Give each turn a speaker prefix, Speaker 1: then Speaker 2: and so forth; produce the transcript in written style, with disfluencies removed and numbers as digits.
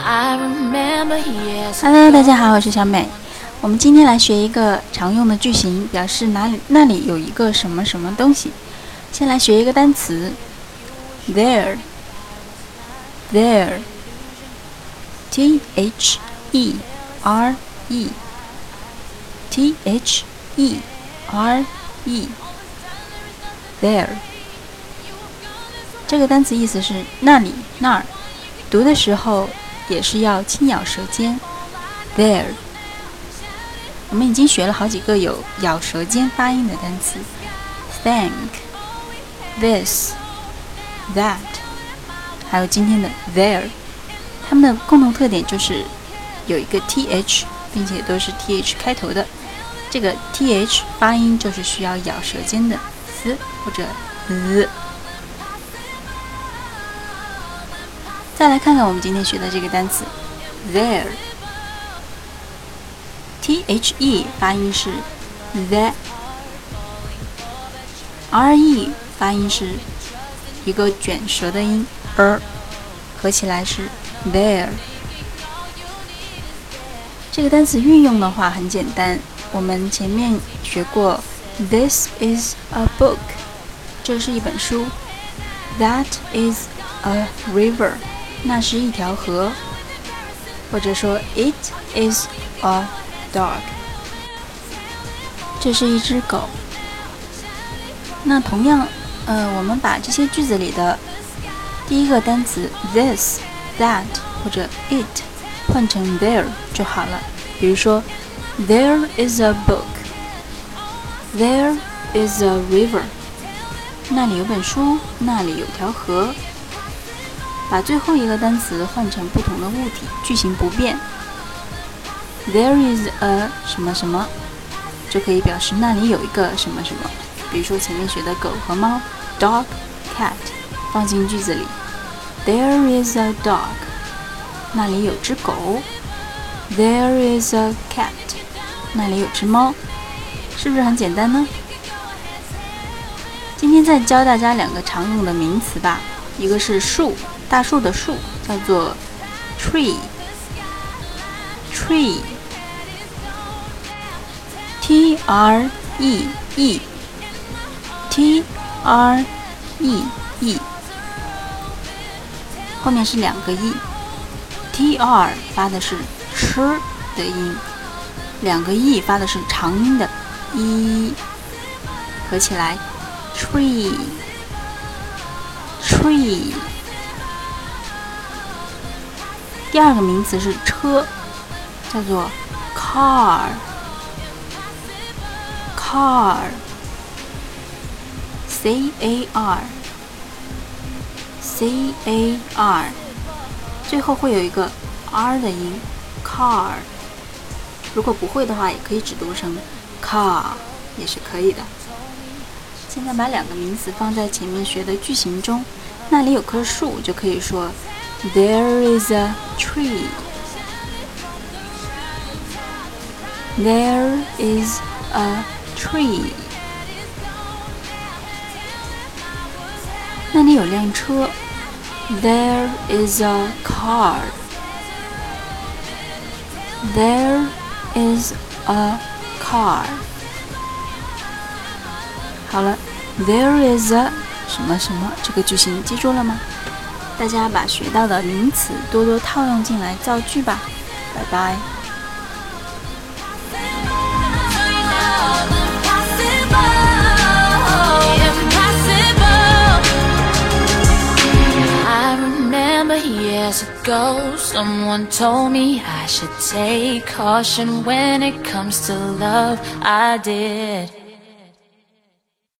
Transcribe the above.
Speaker 1: Hello， 大家好，我是小美。我们今天来学一个常用的句型，表示那里有一个什么什么东西。先来学一个单词 there T H E R E T H E R E there 这个单词意思是那里那儿，读的时候也是要轻咬舌尖 there。 我们已经学了好几个有咬舌尖发音的单词 thank this that 还有今天的 there， 它们的共同特点就是有一个 th 并且都是 th 开头的，这个 th 发音就是需要咬舌尖的 s 或者 z。再来看看我们今天学的这个单词 there THE 发音是 the RE 发音是一个卷舌的音合起来是 there。 这个单词运用的话很简单，我们前面学过 This is a book， 这是一本书， That is a river， 那是一条河，或者说 It is a dog， 这是一只狗。那同样我们把这些句子里的第一个单词 this that 或者 it 换成 there 就好了。比如说 There is a book， There is a river， 那里有本书，那里有条河。把最后一个单词换成不同的物体，句型不变， There is a 什么什么就可以表示那里有一个什么什么。比如说前面学的狗和猫 dog cat 放进句子里， There is a dog， 那里有只狗， There is a cat， 那里有只猫，是不是很简单呢？今天再教大家两个常用的名词吧，一个是树，大树的树叫做 tree T R E E T R E E， 后面是两个 e， T R 发的是吃的音，两个 e 发的是长音的 e， 合起来 tree。 第二个名词是车，叫做 car C A R， 最后会有一个 r 的音 car， 如果不会的话也可以只读成 car 也是可以的。现在把两个名词放在前面学的句型中，那里有棵树就可以说 There is a tree， There is a tree。 那里有辆车 There is a car， There is a car。 好了 There is a 什么什么这个句型记住了吗？大家把学到的名词多多套用进来造句吧。拜拜。
Speaker 2: Years ago, someone told me I should take caution when it comes to love. I did.